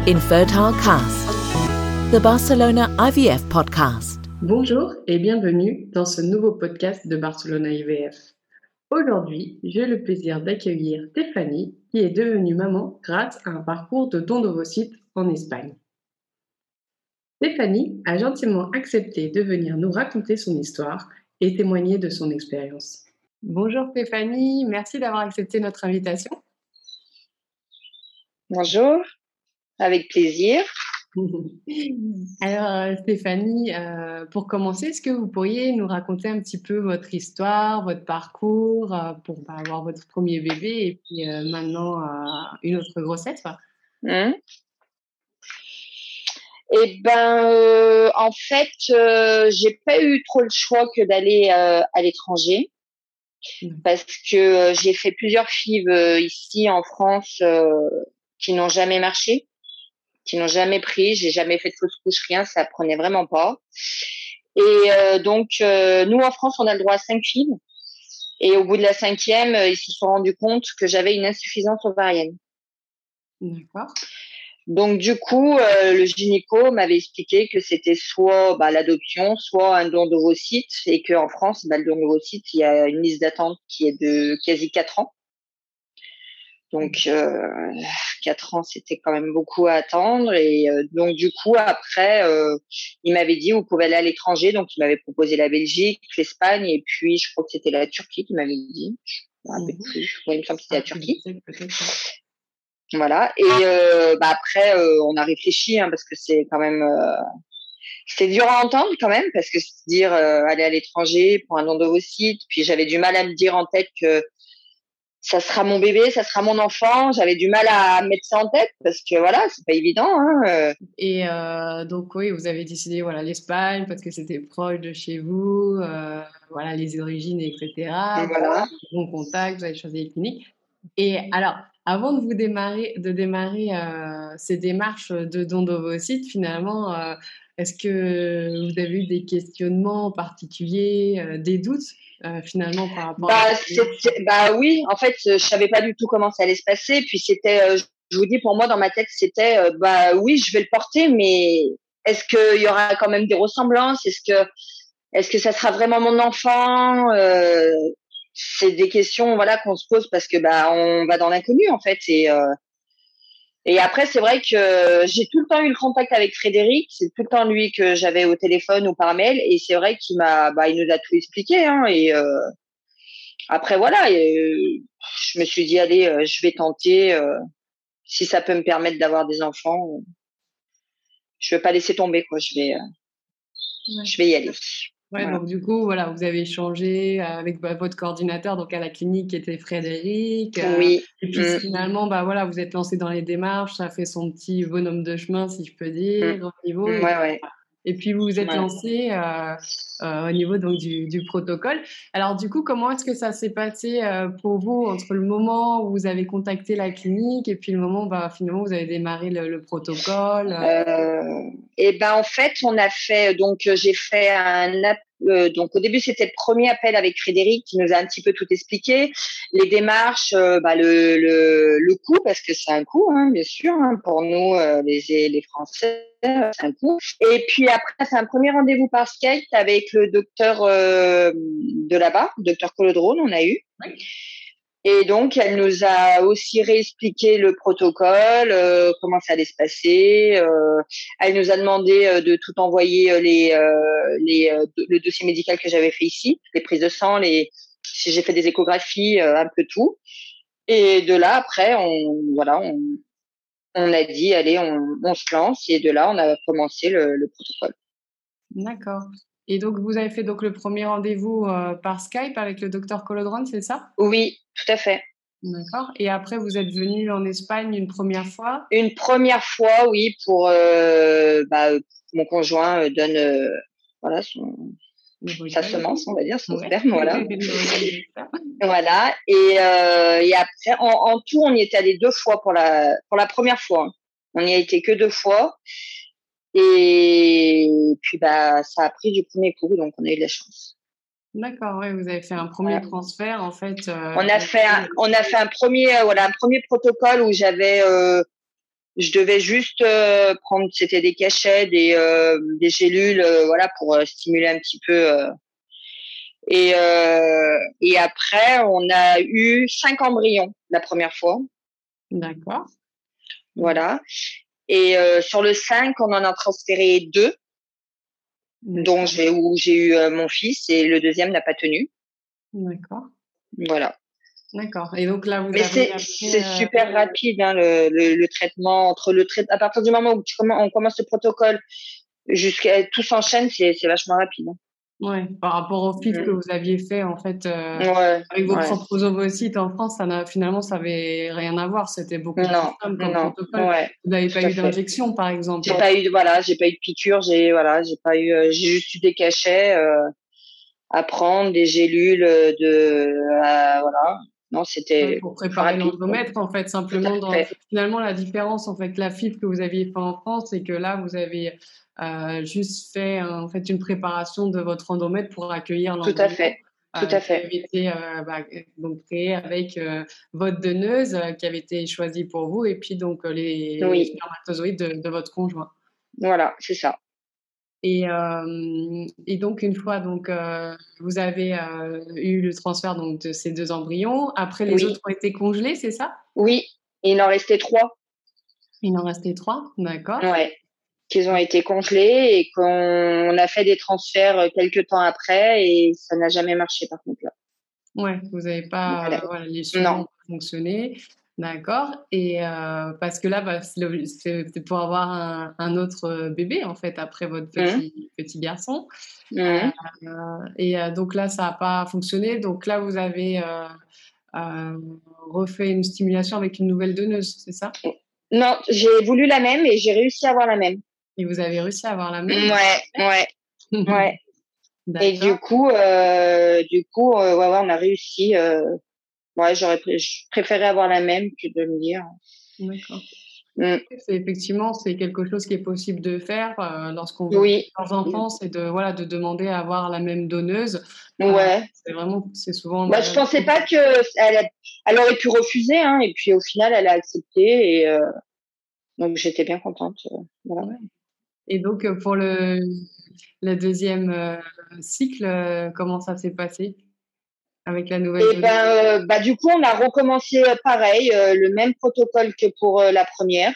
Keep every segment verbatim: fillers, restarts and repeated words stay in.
Infertile Cast, the Barcelona I V F podcast. Bonjour et bienvenue dans ce nouveau podcast de Barcelona I V F. Aujourd'hui, j'ai le plaisir d'accueillir Stéphanie, qui est devenue maman grâce à un parcours de don d'ovocytes en Espagne. Stéphanie a gentiment accepté de venir nous raconter son histoire et témoigner de son expérience. Bonjour Stéphanie, merci d'avoir accepté notre invitation. Bonjour, avec plaisir. Alors Stéphanie, euh, pour commencer, est-ce que vous pourriez nous raconter un petit peu votre histoire, votre parcours euh, pour bah, avoir votre premier bébé et puis euh, maintenant euh, une autre grossesse quoi. Mmh. Eh ben, euh, en fait, euh, j'ai pas eu trop le choix que d'aller euh, à l'étranger Mmh. parce que euh, j'ai fait plusieurs F I V euh, ici en France euh, qui n'ont jamais marché, qui n'ont jamais pris. J'ai jamais fait de fausse couche, rien, ça prenait vraiment pas. Et euh, donc, euh, nous en France, on a le droit à cinq F I V. Et au bout de la cinquième, euh, ils se sont rendus compte que j'avais une insuffisance ovarienne. D'accord. Donc du coup, euh, le gynéco m'avait expliqué que c'était soit bah, l'adoption, soit un don d'ovocytes, et qu'en France, bah, le don d'ovocytes, il y a une liste d'attente qui est de quasi quatre ans. Donc euh, quatre ans, c'était quand même beaucoup à attendre. Et euh, donc du coup, après, euh, il m'avait dit, vous pouvez aller à l'étranger. Donc il m'avait proposé la Belgique, l'Espagne, et puis je crois que c'était la Turquie qu'il m'avait dit. Je ne me rappelle Mmh. plus. Ouais, il me semble que c'était la Turquie. Peut-être, peut-être. Voilà. Et euh, bah après, euh, on a réfléchi hein, parce que c'est quand même, euh, c'était dur à entendre quand même parce que se dire euh, aller à l'étranger pour un don d'ovocytes, puis j'avais du mal à me dire en tête que ça sera mon bébé, ça sera mon enfant. J'avais du mal à mettre ça en tête parce que voilà, c'est pas évident. Hein, euh. Et euh, donc oui, vous avez décidé voilà l'Espagne parce que c'était proche de chez vous, euh, voilà les origines, et cetera. Voilà. Bon contact, vous avez choisi les cliniques. Et alors, avant de vous démarrer, de démarrer euh, ces démarches de don d'ovocytes, finalement, euh, est-ce que vous avez eu des questionnements particuliers, euh, des doutes euh, finalement par rapport à Bah, c'était, bah oui, en fait, je savais pas du tout comment ça allait se passer. Puis c'était, euh, je vous dis, pour moi, dans ma tête, c'était, euh, bah oui, je vais le porter, mais est-ce qu'il y aura quand même des ressemblances? Est-ce que, est-ce que ça sera vraiment mon enfant? Euh, c'est des questions, voilà, qu'on se pose parce que bah on va dans l'inconnu en fait. Et euh, et après, c'est vrai que j'ai tout le temps eu le contact avec Frédéric. C'est tout le temps lui que j'avais au téléphone ou par mail. Et c'est vrai qu'il m'a, bah, il nous a tout expliqué. Hein, et euh, après, voilà, et, euh, je me suis dit, allez, euh, je vais tenter. Euh, si ça peut me permettre d'avoir des enfants, euh, je vais pas laisser tomber, quoi. Je vais, euh, Ouais. je vais y aller. Ouais, Voilà. donc du coup, voilà, vous avez échangé avec bah, votre coordinateur, donc à la clinique qui était Frédéric. euh, Oui. et puis Mm, finalement, bah voilà, vous êtes lancé dans les démarches, ça fait son petit bonhomme de chemin, si je peux mm, dire, au niveau. mm, Et, ouais, ouais. et puis vous vous êtes Ouais. lancé euh, euh, au niveau donc du, du protocole. Alors du coup, comment est-ce que ça s'est passé euh, pour vous entre le moment où vous avez contacté la clinique et puis le moment où bah, finalement vous avez démarré le, le protocole euh, Euh, et ben en fait, on a fait donc euh, j'ai fait un app- euh, donc au début c'était le premier appel avec Frédéric qui nous a un petit peu tout expliqué, les démarches, euh, bah, le, le le coût parce que c'est un coût hein, bien sûr hein, pour nous euh, les les Français c'est un coût. Et puis après c'est un premier rendez-vous par Skype avec le docteur euh, de là-bas, docteur Colodrone, on a eu. Et donc, elle nous a aussi réexpliqué le protocole, euh, comment ça allait se passer. Euh, elle nous a demandé euh, de tout envoyer euh, les, euh, les, euh, le dossier médical que j'avais fait ici, les prises de sang, les, si j'ai fait des échographies, euh, un peu tout. Et de là, après, on, voilà, on, on a dit, allez, on, on se lance. Et de là, on a commencé le, le protocole. D'accord. Et donc, vous avez fait donc le premier rendez-vous euh, par Skype avec le docteur Colodron, c'est ça? Oui, tout à fait. D'accord. Et après, vous êtes venu en Espagne une première fois? Une première fois, oui, pour euh, bah, mon conjoint euh, donne euh, voilà son sa semence, on va dire, son Ouais. sperme, voilà. Ouais. Voilà. Et, euh, et après, en, en tout, on y est allé deux fois pour la pour la première fois. On n'y a été que deux fois. Et puis bah ça a pris du premier coup, donc on a eu de la chance. D'accord, ouais, vous avez fait un premier Voilà. transfert en fait. Euh, On a fait un, on a fait un premier euh, voilà un premier protocole où j'avais euh, Je devais juste euh, prendre, c'était des cachets, des, euh, des gélules, euh, voilà, pour euh, stimuler un petit peu. Euh. Et, euh, et après, on a eu cinq embryons la première fois. D'accord. Voilà. Et euh, sur le cinq, on en a transféré deux, dont j'ai, où j'ai eu euh, mon fils, et le deuxième n'a pas tenu. D'accord. Voilà. D'accord. Et donc là, vous Mais avez c'est, après, c'est euh, super rapide, hein, le, le, le traitement. Entre le trai- à partir du moment où tu commen- on commence le protocole jusqu'à tout s'enchaîne, c'est, c'est vachement rapide. Hein. ouais, par rapport au F I V que Mm. vous aviez fait, en fait, euh, Ouais, avec vos ouais. propres ovocytes en France, ça n'a, finalement, ça avait rien à voir. C'était beaucoup plus Non, simple comme non, protocole. ouais, Vous n'avez tout pas à eu fait. d'injection, par exemple. J'ai pas eu de, voilà, j'ai pas eu de piqûre, j'ai, voilà, j'ai pas eu, euh, j'ai juste eu des cachets, euh, à prendre, des gélules euh, de, euh, voilà. Non, Ouais, c'était pour préparer rapide, quoi. l'endomètre, en fait, Tout simplement. à Dans, fait, c'est finalement, la différence, en fait, la F I V que vous aviez fait en France, c'est que là, vous avez euh, juste fait, en fait, une préparation de votre endomètre pour accueillir tout à l'embryon fait, tout euh, à qui fait. avait été euh, bah, donc créé avec euh, votre donneuse euh, qui avait été choisie pour vous et puis donc euh, les Oui, spermatozoïdes de, de votre conjoint. voilà, c'est ça. Et, euh, et donc, une fois donc, euh, vous avez euh, eu le transfert donc, de ces deux embryons, après les autres Oui, ont été congelés, c'est ça? oui. Et il en restait trois. Il en restait trois, d'accord. Ouais. Qu'ils ont été congelés et qu'on a fait des transferts euh, quelques temps après et ça n'a jamais marché par contre là. Ouais, vous n'avez pas, Voilà. euh, voilà, les suivants Non. ont pas fonctionné, d'accord. Et euh, parce que là, bah, c'est le- c'est c'est pour avoir un, un autre euh, bébé en fait après votre Mmh. petit petit garçon. Mmh. Euh, et euh, donc là, ça n'a pas fonctionné. Donc là, vous avez euh, euh, refait une stimulation avec une nouvelle donneuse, c'est ça? Non, j'ai voulu la même et j'ai réussi à avoir la même. Et vous avez réussi à avoir la même? Ouais, ouais, ouais. Et du D'accord, coup, euh, du coup, euh, ouais, ouais, on a réussi. Euh, ouais, j'aurais pré- je préférais avoir la même que de me dire. d'accord. Mm. C'est effectivement, c'est quelque chose qui est possible de faire euh, lorsqu'on veut Oui, plusieurs enfants, c'est de voilà de demander à avoir la même donneuse. Euh, ouais. c'est vraiment, c'est souvent Bah, la, je la- pensais pas que elle, a- elle aurait pu refuser, hein, et puis au final, elle a accepté et euh, donc j'étais bien contente. euh, voilà. ouais. Et donc euh, pour le le deuxième euh, cycle, euh, comment ça s'est passé avec la nouvelle Et donneuse? ben, euh, bah du coup, on a recommencé euh, pareil, euh, le même protocole que pour euh, la première,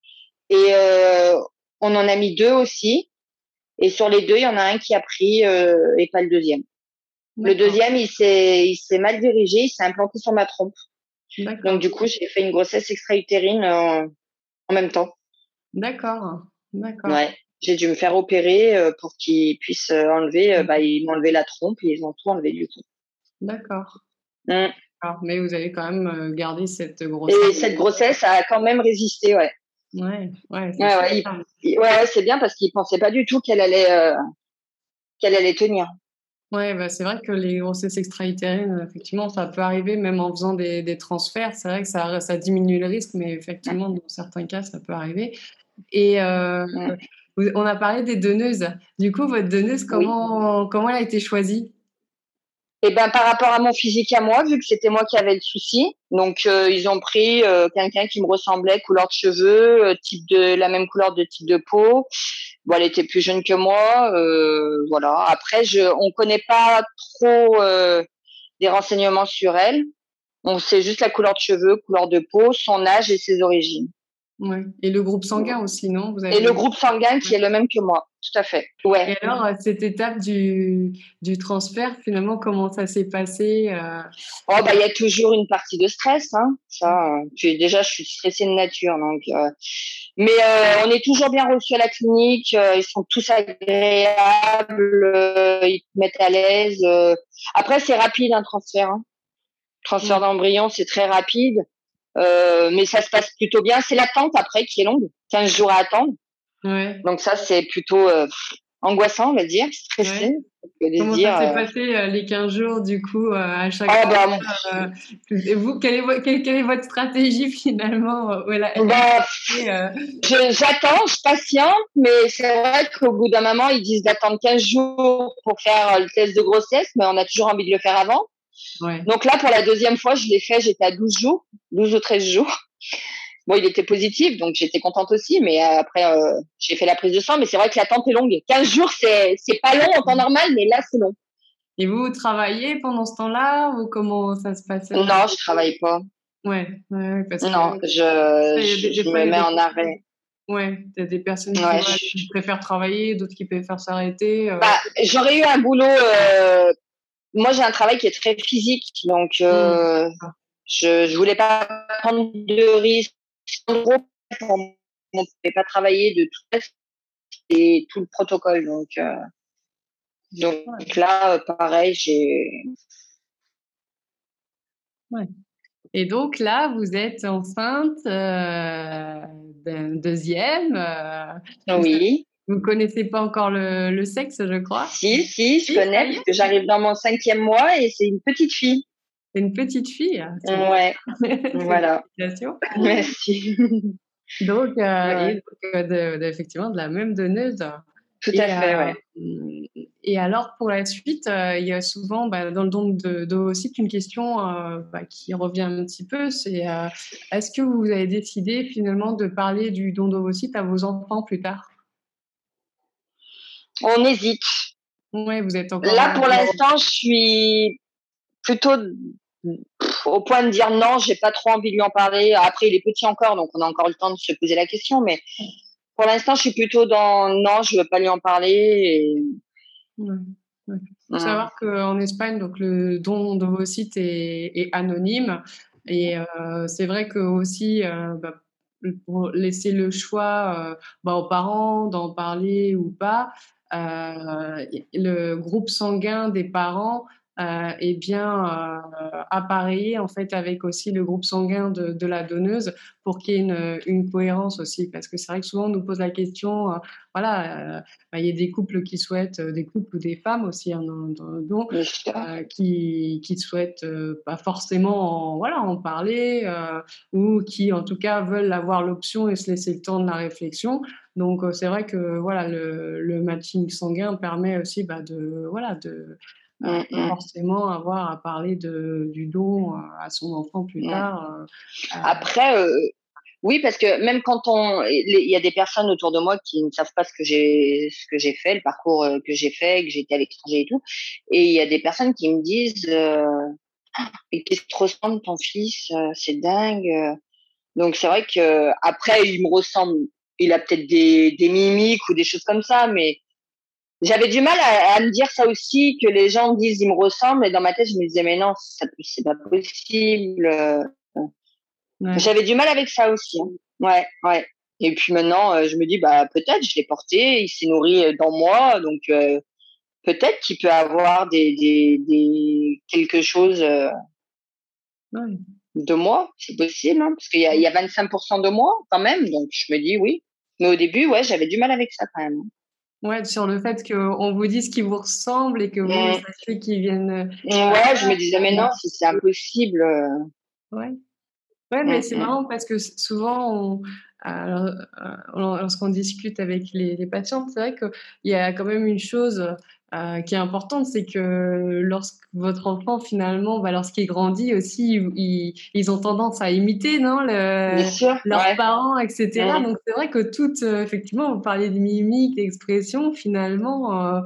et euh, on en a mis deux aussi. Et sur les deux, il y en a un qui a pris euh, et pas le deuxième. Le D'accord, deuxième, il s'est, il s'est mal dirigé, il s'est implanté sur ma trompe. Donc d'accord, du coup, j'ai fait une grossesse extra-utérine en, en même temps. d'accord, d'accord. Ouais. J'ai dû me faire opérer euh, pour qu'ils puissent euh, enlever. Euh, bah, ils m'ont enlevé la trompe et ils ont tout enlevé du coup. D'accord. Mm. Alors, mais vous avez quand même euh, gardé cette Et grossesse. cette grossesse a quand même résisté, ouais. Ouais, ouais, c'est Ouais, ouais, super. il- il- ouais, ouais, c'est bien parce qu'ils pensaient pas du tout qu'elle allait, euh, qu'elle allait tenir. Ouais, bah, c'est vrai que les grossesses extra-utérines, effectivement, ça peut arriver même en faisant des, des transferts. C'est vrai que ça, ça diminue le risque, mais effectivement, dans certains cas, ça peut arriver. Et euh, Mm. vous- on a parlé des donneuses. Du coup, votre donneuse, Oui. comment, comment elle a été choisie? Et ben par rapport à mon physique à moi, vu que c'était moi qui avais le souci, donc euh, ils ont pris euh, quelqu'un qui me ressemblait, couleur de cheveux, euh, type de la même couleur de type de peau. Bon, elle était plus jeune que moi, euh, voilà. Après, je, on connaît pas trop euh, des renseignements sur elle. On sait juste la couleur de cheveux, couleur de peau, son âge et ses origines. Ouais. Et le groupe sanguin aussi, non? Vous Et le avez... groupe sanguin qui Ouais. est le même que moi, tout à fait. Ouais. Et alors, euh, cette étape du, du transfert, finalement, comment ça s'est passé? euh, Oh bah il y a toujours une partie de stress, hein. Ça, euh, tu, déjà je suis stressée de nature, donc. Euh, mais euh, on est toujours bien reçus à la clinique. Euh, ils sont tous agréables, euh, ils te mettent à l'aise. Euh. Après c'est rapide un transfert. Hein. Transfert Ouais. d'embryon c'est très rapide, euh, mais ça se passe plutôt bien. C'est l'attente après qui est longue, quinze jours à attendre. Ouais. Donc ça c'est plutôt euh, angoissant, on va dire, stressé, Ouais. que de se Comment ça dire. s'est Euh, passé euh, les quinze jours, du coup, euh, à chaque oh fois? bah, euh, et vous, quelle est, vo- quelle, quelle est votre stratégie finalement? euh, où elle a- elle a bah été, euh, Je- J'attends, je patiente, mais c'est vrai qu'au bout d'un moment, ils disent d'attendre quinze jours pour faire le test de grossesse, mais on a toujours envie de le faire avant. ouais. Donc là, pour la deuxième fois, je l'ai fait, j'étais à douze jours, douze ou treize jours. Bon, il était positif, donc j'étais contente aussi, mais euh, après, euh, j'ai fait la prise de sang, mais c'est vrai que l'attente est longue. quinze jours, c'est, c'est pas long en temps normal, mais là, c'est long. Et vous, vous travaillez pendant ce temps-là ou comment ça se passait? Non, je travaille pas. Ouais, ouais, ouais, parce que Non, je, il y a je, des, des je fois, me il y a mets des en personnes, arrêt. ouais, il y a des personnes qui, Ouais, voilà, je- qui préfèrent travailler, d'autres qui préfèrent s'arrêter. euh. bah, j'aurais eu un boulot. Euh, moi, j'ai un travail qui est très physique, donc Hmm. euh, je, je voulais pas prendre de risques. En gros, on ne pouvait pas travailler de tout ça, et tout le protocole. Donc, euh, Ouais, donc là, euh, pareil, j'ai. ouais. Et donc là, vous êtes enceinte euh, d'un deuxième. Euh, vous Oui, ne connaissez pas encore le, le sexe, je crois. si, si, je Si, ça connais, y parce est, que j'arrive dans mon cinquième mois et c'est une petite fille. c'est une petite fille. C'est Ouais, bien. voilà. Félicitations. Merci. Donc, euh, et Ouais, donc euh, de, de- effectivement, de la même donneuse. tout à Et, fait, euh, ouais. et alors, pour la suite, euh, il y a souvent, bah, dans le don de, d'ovocytes, une question euh, bah, qui revient un petit peu, c'est euh, est-ce que vous avez décidé finalement de parler du don d'ovocytes à vos enfants plus tard? On hésite. Ouais, vous êtes encore Là, un pour peu... l'instant, je suis plutôt pff, au point de dire non, j'ai pas trop envie de lui en parler. Après, il est petit encore, donc on a encore le temps de se poser la question, mais pour l'instant, je suis plutôt dans non, je veux pas lui en parler. Et... Ouais, ouais. Faut Hum, savoir qu'en Espagne, donc le don d'ovocytes est, est anonyme et euh, c'est vrai que aussi euh, bah, pour laisser le choix euh, bah, aux parents d'en parler ou pas, euh, le groupe sanguin des parents euh, est bien euh, appareillé en fait avec aussi le groupe sanguin de, de la donneuse pour qu'il y ait une, une cohérence aussi parce que c'est vrai que souvent on nous pose la question, euh, voilà. Euh, bah, il y a des couples qui souhaitent, euh, des couples ou des femmes aussi, hein, dans, dans le don, bien sûr. euh, qui, qui souhaitent euh, pas forcément en, voilà, en parler euh, ou qui en tout cas veulent avoir l'option et se laisser le temps de la réflexion. Donc euh, c'est vrai que voilà, le, le matching sanguin permet aussi bah, de, voilà, de euh, Hum, pas hum, forcément avoir à parler de, du don euh, à son enfant plus hum. tard. Euh, euh, Après, euh, oui, parce que même quand on, il y a des personnes autour de moi qui ne savent pas ce que j'ai, ce que j'ai fait, le parcours euh, que j'ai fait, que j'étais à l'étranger et tout, et il y a des personnes qui me disent, euh, mais qu'est-ce que te ressemble ton fils, euh, c'est dingue. euh. Donc c'est vrai que après il me ressemble, il a peut-être des, des mimiques ou des choses comme ça, mais j'avais du mal à, à me dire ça aussi, que les gens disent il me ressemble, et dans ma tête je me disais mais non, ça, c'est pas possible. euh. ouais. J'avais du mal avec ça aussi, hein. Ouais, ouais. Et puis maintenant, euh, je me dis, bah peut-être, je l'ai porté, il s'est nourri euh, dans moi, donc euh, peut-être qu'il peut avoir des, des, des quelque chose euh, Ouais. de moi, c'est possible, hein, parce qu'il y a, il y a vingt-cinq pour cent de moi quand même, donc je me dis oui. Mais au début, ouais, j'avais du mal avec ça quand même. Ouais, sur le fait qu'on vous dise qui vous ressemble et que vous Mm. sachiez qu'ils viennent. Ouais, je me disais, mais non, si c'est impossible. euh, Ouais. Ouais, mais mm, c'est mm. marrant parce que s- souvent, on, alors, euh, lorsqu'on discute avec les, les patients, c'est vrai qu'il y a quand même une chose euh, qui est importante, c'est que lorsque votre enfant, finalement, bah, lorsqu'il grandit aussi, ils, ils ont tendance à imiter, non, Bien le- sûr, leurs ouais. parents, et cetera. Mm. Donc, c'est vrai que toutes, euh, effectivement, vous parlez de mimiques, d'expressions, finalement, euh,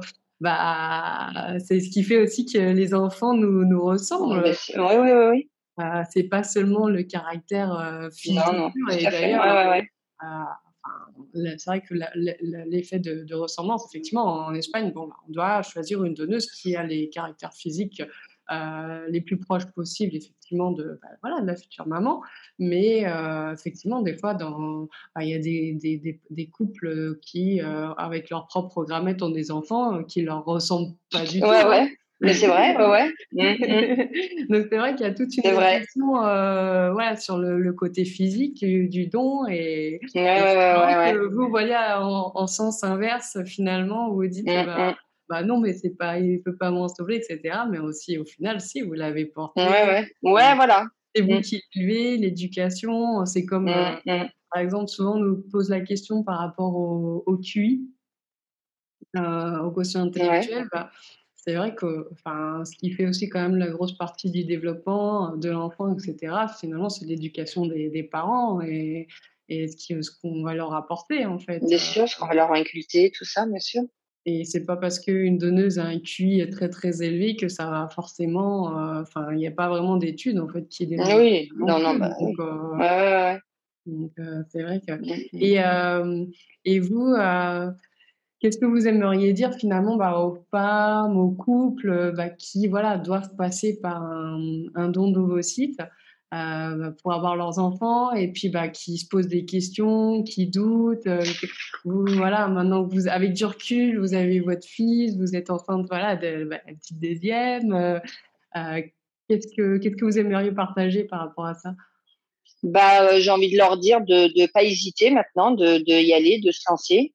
bah, c'est ce qui fait aussi que les enfants nous, nous Bien ressemblent. sûr. Oui, oui, oui, oui. Euh, c'est pas seulement le caractère euh, Non, physique non, pur. tout Et à fait. d'ailleurs, Ouais, ouais, ouais. euh, enfin, le- c'est vrai que la- la- l'effet de, de ressemblance, effectivement, en Espagne, bon, bah, on doit choisir une donneuse qui a les caractères physiques euh, les plus proches possibles, effectivement, de, bah, voilà, de la future maman. Mais euh, effectivement, des fois, dans, bah, il y a des, des, des, des couples qui, euh, avec leur propre gamète, ont des enfants euh, qui leur ressemblent pas du tout, Ouais, hein. ouais. Mais c'est vrai, ouais, ouais. Mm, mm. Donc c'est vrai qu'il y a toute une C'est vrai. réflexion euh, voilà, sur le, le côté physique du, du don et, Ouais, et ouais, c'est ouais, marrant ouais, ouais. que vous voyez en, en sens inverse finalement où vous dites Mm, bah, mm. bah non mais c'est pas il peut pas m'en sauver et cetera mais aussi au final si vous l'avez Ouais, porté ouais. Ouais, voilà. c'est vous Mm, qui l'élevez l'éducation c'est comme euh, mm, mm. par exemple souvent on nous pose la question par rapport au, au Q I euh, au quotient Ouais. intellectuel bah, c'est vrai que, enfin, ce qui fait aussi quand même la grosse partie du développement de l'enfant, et cetera, finalement, c'est l'éducation des des parents et et ce qui ce qu'on va leur apporter, en fait, Bien heu sûr, ce qu'on va leur inculquer, tout ça, bien sûr. et c'est pas parce qu'une donneuse a un Q I très, très élevé que ça va forcément, heu, enfin, il y a pas vraiment d'études, en fait, qui démontrent Oui, ça non non, non, plus, bah, donc oui. heu Ouais, ouais, ouais. donc heu, c'est vrai que Mmh mh. et hem et vous, heu qu'est-ce que vous aimeriez dire finalement, bah, aux femmes, aux couples, heu, bah, qui voilà, doivent passer par un un don d'ovocytes, heu, bah, pour avoir leurs enfants et puis, bah, qui se posent des questions, qui doutent, heu, que vous voilà, maintenant que vous avec du recul, vous avez votre fils, vous êtes enceinte, voilà, de bah, la petite deuxième, heu heu, qu'est-ce que qu'est-ce que vous aimeriez partager par rapport à ça? Bah, heu, j'ai envie de leur dire de de pas hésiter maintenant, de de y aller, de se lancer.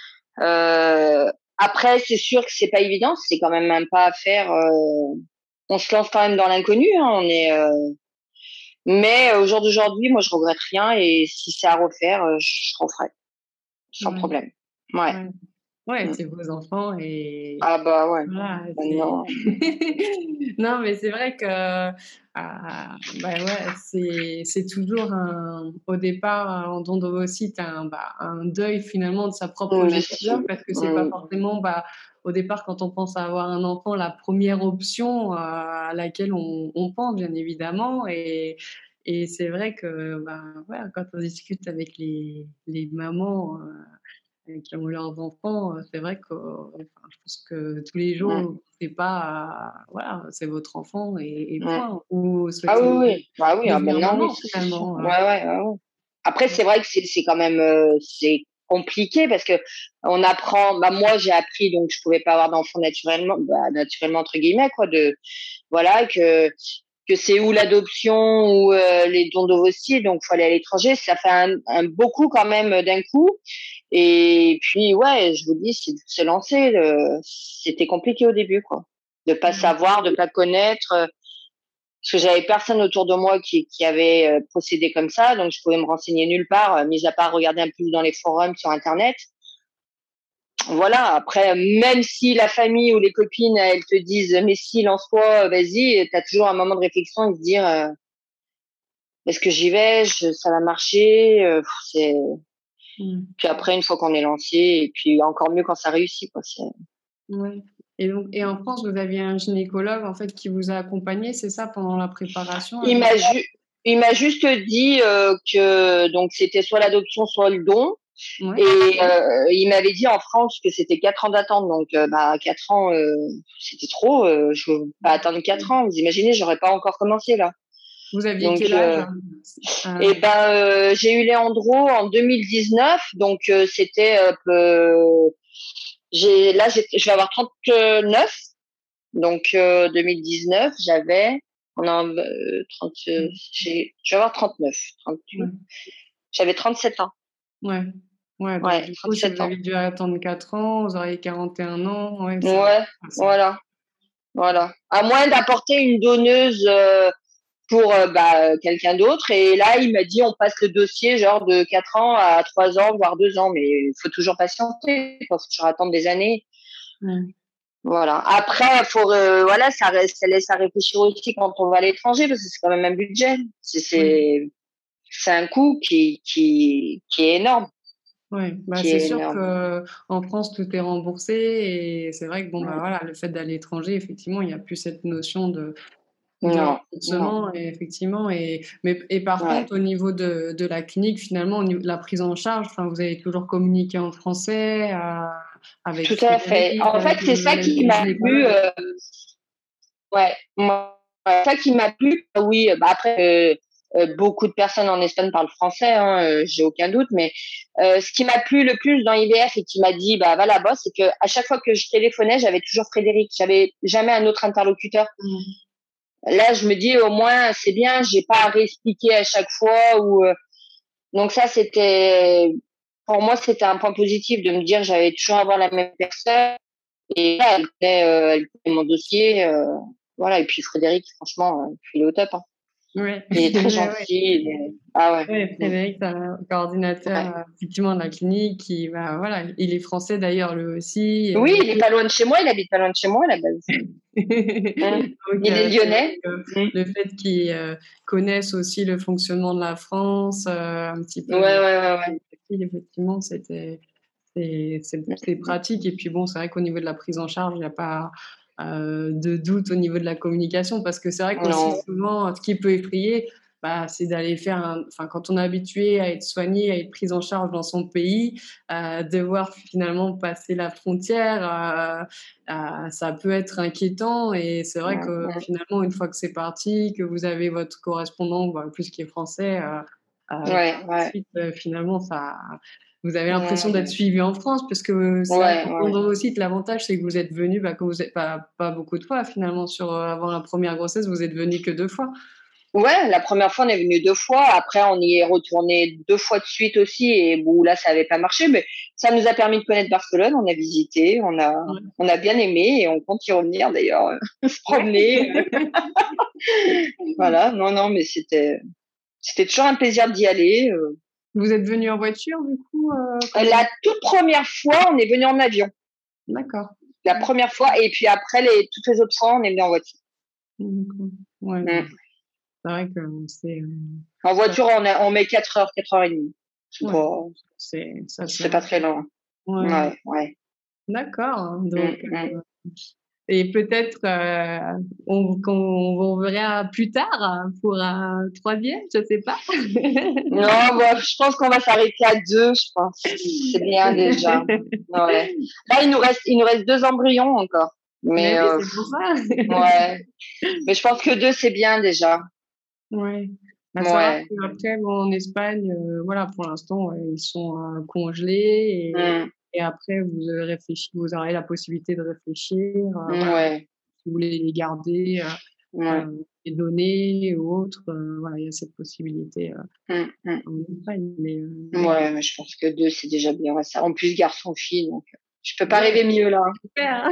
Heu, Après, c'est sûr que c'est pas évident, c'est quand même un pas à faire, heu, on se lance quand même dans l'inconnu, hein, on est, heu mais au jour d'aujourd'hui, moi, je regrette rien et si c'est à refaire, heu, je referai, sans Ouais, problème. Ouais. ouais. Ouais, Mmh. c'est vos enfants et Ah bah, ouais, voilà, c'est maintenant non, mais c'est vrai que, ah, bah, ouais, c'est c'est toujours un au départ, un don d'ovocytes, un, bah, un deuil finalement de sa propre mmh, bien sûr. géniture parce que c'est pas Mmh. forcément, bah, au départ quand on pense à avoir un enfant, la première option, heu, à laquelle on on pense bien évidemment et et c'est vrai que, bah, voilà, quand on discute avec les les mamans, heu et qui ont leurs enfants, heu, c'est vrai que, euh, enfin, je pense que tous les Mmh. jours, c'est pas voilà, c'est votre enfant et et Mmh. point. Ou Ah souhaiter oui, oui. Bah oui, ah devenir maintenant oui, maman ça c'est sûr. finalement, Ouais, heu, ouais, ouais, ouais. Après, c'est vrai que c'est c'est quand même, heu, c'est compliqué parce que on apprend bah, moi, j'ai appris donc je pouvais pas avoir d'enfant naturellement, bah, «naturellement» entre guillemets quoi, de voilà, que que c'est ou l'adoption ou, heu, les dons d'ovocytes, donc faut aller à l'étranger. Ça fait un un beaucoup quand même, heu, d'un coup et puis ouais, je vous dis, c'est de se lancer, heu, c'était compliqué au début quoi. De pas mmh, savoir, de pas connaître, heu parce que j'avais personne autour de moi qui, qui avait euh, procédé comme ça, donc je pouvais me renseigner nulle part, euh, mis à part regarder un peu dans les forums sur Internet. Voilà. Après, même si la famille ou les copines, elles te disent, mais si, lance-toi, vas-y, t'as toujours un moment de réflexion et de se dire, euh, est-ce que j'y vais, je, ça va marcher, euh, c'est... mmh, Puis après, une fois qu'on est lancé, et puis encore mieux quand ça réussit, quoi. C'est... ouais et donc et en France, vous aviez un gynécologue en fait qui vous a accompagné, c'est ça, pendant la préparation et Il m'a ju- il m'a juste dit euh, que donc c'était soit l'adoption, soit le don. Et ouais, euh, il m'avait dit en France que c'était quatre ans d'attente, donc euh, bah quatre ans, euh, c'était trop. Euh, je veux pas attendre quatre ans. Vous imaginez, j'aurais pas encore commencé là. vous aviez Donc, quel âge? euh, Heu, et ben, euh, j'ai eu Léandro en deux mille dix-neuf, donc euh, c'était, euh, peu- j'ai là, j'ai- je vais avoir trente-neuf, donc euh, deux mille dix-neuf, j'avais, on a euh, trente, euh, mmh, j'ai, je vais avoir trente-neuf, trente-huit, ouais, j'avais trente-sept ans. ouais, ouais, donc Ouais, du coup, si trente-sept vous ans. avez dû attendre quatre ans, vous auriez quarante et un ans, ouais, ça Ouais, ah ça voilà. Voilà. À moins d'apporter une donneuse euh, pour euh, bah, quelqu'un d'autre. Et là, il m'a dit, on passe le dossier genre de quatre ans à trois ans, voire deux ans. Mais il faut toujours patienter. Il faut toujours attendre des années. mmh, Voilà. Après, faut, euh, voilà, ça, reste, ça laisse à réfléchir aussi quand on va à l'étranger, parce que c'est quand même un budget. C'est, ouais. c'est, c'est un coût qui, qui, qui est énorme. Ouais, bah, Qui c'est est sûr énorme. qu'en France, tout est remboursé et c'est vrai que bon, bah, Mm. voilà, le fait d'aller à l'étranger, effectivement, il y a plus cette notion de de Non, non. remboursement et effectivement et mais et par Ouais. contre, au niveau de de la clinique, finalement, au niveau de la prise en charge, enfin, vous avez toujours communiqué en français, heu, avec Tout à fait. Frédéric, En fait, avec c'est ça le qui le m'a plu. gynécologue? euh, Ouais, moi, ouais, ça qui m'a plu, euh, oui, bah après, euh, euh, beaucoup de personnes en Espagne parlent français, hein, euh, j'ai aucun doute, mais euh, ce qui m'a plu le plus dans I V F et qui m'a dit, bah va là-bas, c'est que à chaque fois que je téléphonais, j'avais toujours Frédéric, j'avais jamais un autre interlocuteur. Mmh. Là, je me dis, au moins, c'est bien, j'ai pas à réexpliquer à chaque fois ou, euh, donc ça, c'était, pour moi, c'était un point positif de me dire, j'allais toujours avoir la même personne. Et là, elle connaît, euh, elle connaît mon dossier. Euh, voilà. Et puis Frédéric, franchement, euh, il est au top. Hein. Ouais. Il est très Ouais, ouais. gentil. il est- Ah ouais. Ouais, Frédéric, c'est un coordinateur Ouais. euh, effectivement de la clinique qui va, voilà, il est français d'ailleurs lui aussi. Oui, euh, il est pas loin de chez moi, il habite pas loin de chez moi à la base. Hum. Donc, Il est euh, c'est vrai lyonnais. que Hum. le fait qu'ils euh, connaissent aussi le fonctionnement de la France, euh, un petit Ouais, peu les, ouais, ouais, ouais. les filles, effectivement, c'était c'est c'est- c'est pratique. Et puis bon, c'est vrai qu'au niveau de la prise en charge, il n'y a pas euh, de doute au niveau de la communication parce que c'est vrai qu'aussi Non. souvent, ce qui peut effrayer, bah, c'est d'aller faire un... Enfin, quand on est habitué à être soigné, à être pris en charge dans son pays, euh, devoir finalement passer la frontière, euh, euh, ça peut être inquiétant. Et c'est vrai Hum, que hum. finalement, une fois que c'est parti, que vous avez votre correspondant, bah, plus qui est français, euh, euh, Ouais, ouais. ensuite, euh, finalement, ça, vous avez l'impression Non, d'être mais- suivi en France, parce que c'est vrai Ouais, qu'en ouais. dans vos sites, l'avantage, c'est que vous êtes venu, bah, que vous êtes pas, pas beaucoup de fois, finalement, sur, euh, avant la première grossesse, vous êtes venu que deux fois. Ouais, la première fois, on est venu deux fois. Après, on y est retourné deux fois de suite aussi. Et bon, là, ça avait pas marché, mais ça nous a permis de connaître Barcelone. On a visité, on a, Ouais. on a bien aimé et on compte y revenir d'ailleurs, se promener. Voilà. Non, non, mais c'était, c'était toujours un plaisir d'y aller. euh. Vous êtes venu en voiture, du coup, euh, comment... La toute première fois, on est venu en avion. D'accord. La première fois. Et puis après, les, toutes les autres fois, on est venu en voiture. D'accord. Ouais, Mm. c'est vrai que c'est... euh, En ça, voiture, on, a, on met quatre heures, quatre heures et demie. C'est ouais, pas, c'est, ça, c'est c'est pas vrai. très long. Ouais. Ouais, ouais. D'accord. Hein. Mm, Donc, mm. euh, et peut-être euh, on, qu'on on verra plus tard pour un troisième, je sais pas. Non, bah, je pense qu'on va s'arrêter à deux, je pense. C'est bien déjà. Ouais. Là, il nous reste, il nous reste deux embryons encore. Mais Mais, oui, euh, c'est pour ça. ouais. Mais je pense que deux, c'est bien déjà. Ouais. À savoir Ouais. qu'après, bon, en Espagne, euh, voilà, pour l'instant, ouais, ils sont euh, congelés et, Mm, et après, vous euh, réfléchissez, vous aurez la possibilité de réfléchir, euh, voilà, ouais. si vous voulez les garder, euh, Ouais. euh, les donner ou autre, euh, voilà, il y a cette possibilité euh, Mm, mm. en Espagne. Mais euh, oui, Ouais, mais je pense que deux, c'est déjà bien. Ouais, ça. En plus, garçon-fille, donc euh, je peux pas ouais, rêver mieux là. super.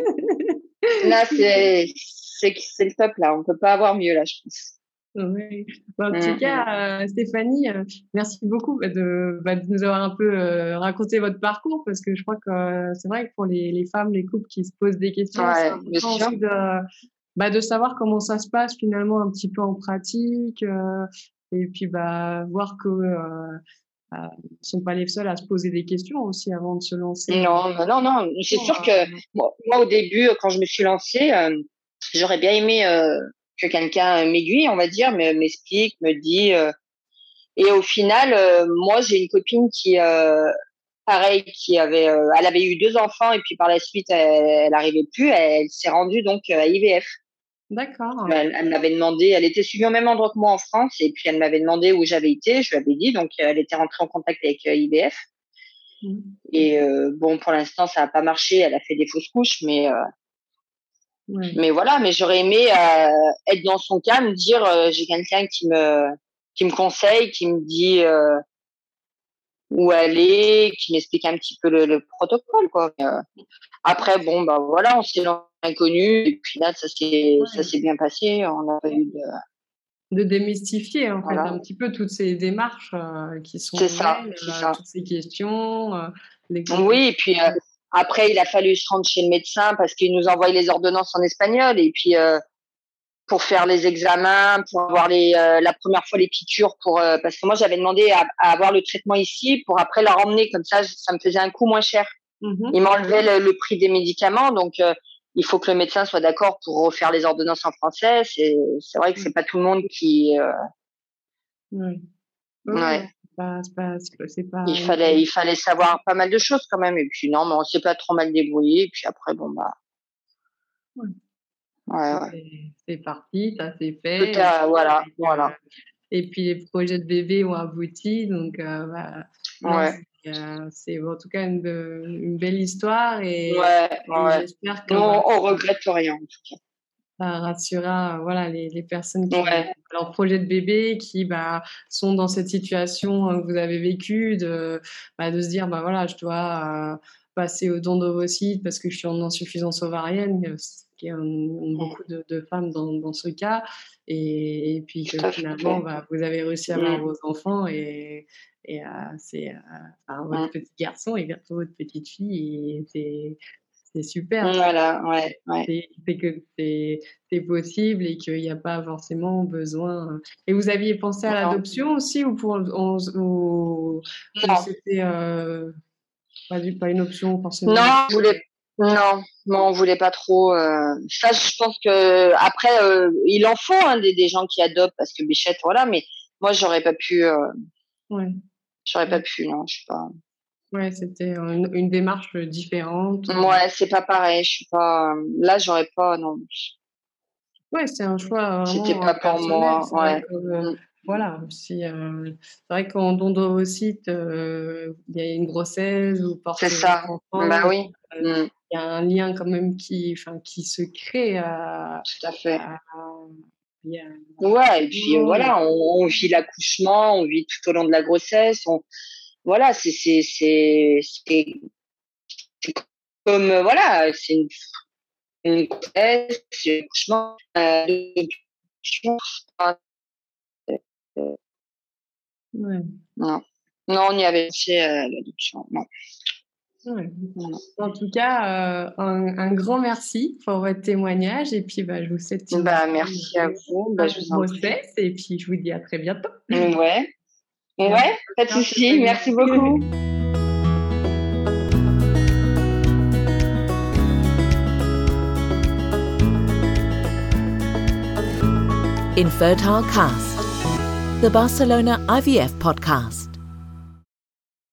Là, c'est, c'est, c'est le top là. On peut pas avoir mieux là, je pense. Oui. Bah, en tout Mm, mm. cas, euh, Stéphanie, euh, merci beaucoup bah, de, bah, de nous avoir un peu euh, raconté votre parcours parce que je crois que euh, c'est vrai que pour les, les femmes, les couples qui se posent des questions, c'est Ouais, bien important sûr. aussi de, bah, de savoir comment ça se passe finalement un petit peu en pratique euh, et puis bah, voir que euh, euh, ils ne sont pas les seuls à se poser des questions aussi avant de se lancer dans Non, non, non, non. C'est sûr que euh, moi, moi, au début, quand je me suis lancée, euh, j'aurais bien aimé euh, que quelqu'un m'aiguille, on va dire, me- m'explique, me dit. euh, Et au final, euh, moi, j'ai une copine qui, euh, pareil, qui avait, euh, elle avait eu deux enfants et puis par la suite, elle, elle arrivait plus. Elle, s'est rendue donc à I V F. D'accord. Elle, elle m'avait demandé, elle était suivie au même endroit que moi en France et puis elle m'avait demandé où j'avais été. Je lui avais dit, donc elle était rentrée en contact avec euh, I V F. Mhm. Et euh, bon, pour l'instant, ça n'a pas marché. Elle a fait des fausses couches, mais euh, Ouais. mais voilà. Mais j'aurais aimé euh, être dans son cas, me dire, euh, j'ai quelqu'un qui me qui me conseille, qui me dit euh, où aller, qui m'explique un petit peu le, le protocole, quoi. Mais, euh, après, bon, bah voilà, on s'est lancé inconnu et puis là, ça s'est ça Ouais. s'est bien passé. On n'a pas eu de De démystifier en fait voilà. un petit peu toutes ces démarches euh, qui sont C'est ça, nouvelles, c'est euh, ça. toutes ces questions, euh, les Oui, et puis euh, complications. après, il a fallu se rendre chez le médecin parce qu'il nous envoie les ordonnances en espagnol et puis euh, pour faire les examens, pour avoir les euh, la première fois les piqûres pour euh, parce que moi j'avais demandé à, à avoir le traitement ici pour après leur emmener comme ça ça me faisait un coût moins cher. Mhm. Il m'enlevait le, le prix des médicaments donc euh, il faut que le médecin soit d'accord pour refaire les ordonnances en français. C'est c'est vrai que c'est pas tout le monde qui euh, Oui. Oui, oui, non, ouais. c'est pas, c'est pas, c'est pas, c'est pas Il fallait évident. il fallait savoir pas mal de choses quand même et puis non mais on s'est pas trop mal débrouillé et puis après bon bah Ouais. ouais ouais. C'est c'est parti, ça s'est Tout fait. Et à puis, voilà, avec, euh, voilà. et puis les projets de bébé ont abouti. Donc, euh, bah, non, Ouais. c'est euh, c'est en tout cas une, be- une belle histoire et, Ouais, et ouais. j'espère que Non, voilà, on regrette rien en tout ça rassurera euh, voilà, les, les personnes cas. qui ont Ouais, leur projet de bébé, qui bah, sont dans cette situation euh, que vous avez vécue, de, bah, de se dire bah, voilà, je dois euh, passer au don d'ovocytes parce que je suis en insuffisance ovarienne. Euh, qui ont, ont beaucoup de, de femmes dans, dans ce cas, et, et puis que finalement, bah, vous avez réussi à avoir mmh. vos enfants, et, et euh, c'est euh, enfin, votre mmh. petit garçon et bientôt votre petite fille, et c'est, c'est super. Voilà, ouais, ouais. C'est, c'est que c'est, c'est possible et qu'il n'y a pas forcément besoin. Et vous aviez pensé à non. l'adoption aussi, ou pour on, ou, ou c'était euh, pas, pas une option forcément? Non, on voulait, non, non, on voulait pas trop. Euh, ça, je pense que après, euh, il en faut hein, des, des gens qui adoptent parce que Bichette, voilà. Mais moi, j'aurais pas pu. Euh, ouais. J'aurais ouais. pas pu, non, je sais pas. Ouais, c'était une, une démarche différente. Ouais, c'est pas pareil. Je suis pas. Là, j'aurais pas, non. Ouais, c'est un choix. C'était pas pour moi. Ouais. Que, euh, mmh. Voilà. Si, euh, c'est vrai qu'en don d'ovocytes, il euh, y a une grossesse ou porte c'est ça. enfant, bah oui. Il euh, mmh. y a un lien quand même qui, enfin, qui se crée. À, Tout à fait. À, à, à, ouais, et puis euh, voilà, on, on vit l'accouchement, on vit tout au long de la grossesse. On, voilà, c'est c'est c'est c'est, c'est comme euh, voilà, c'est une une grossesse, c'est l'accouchement. Euh, ouais. Non, non, on y avait pensé à l'adoption. Non. Ouais. En tout cas, euh, un, un grand merci pour votre témoignage, et puis bah, je vous souhaite une bah, merci à vous. Bah, je vous en prie. Et puis je vous dis à très bientôt. Ouais, ouais, pas de souci. Merci beaucoup. Infertile Cast, the Barcelona I V F podcast.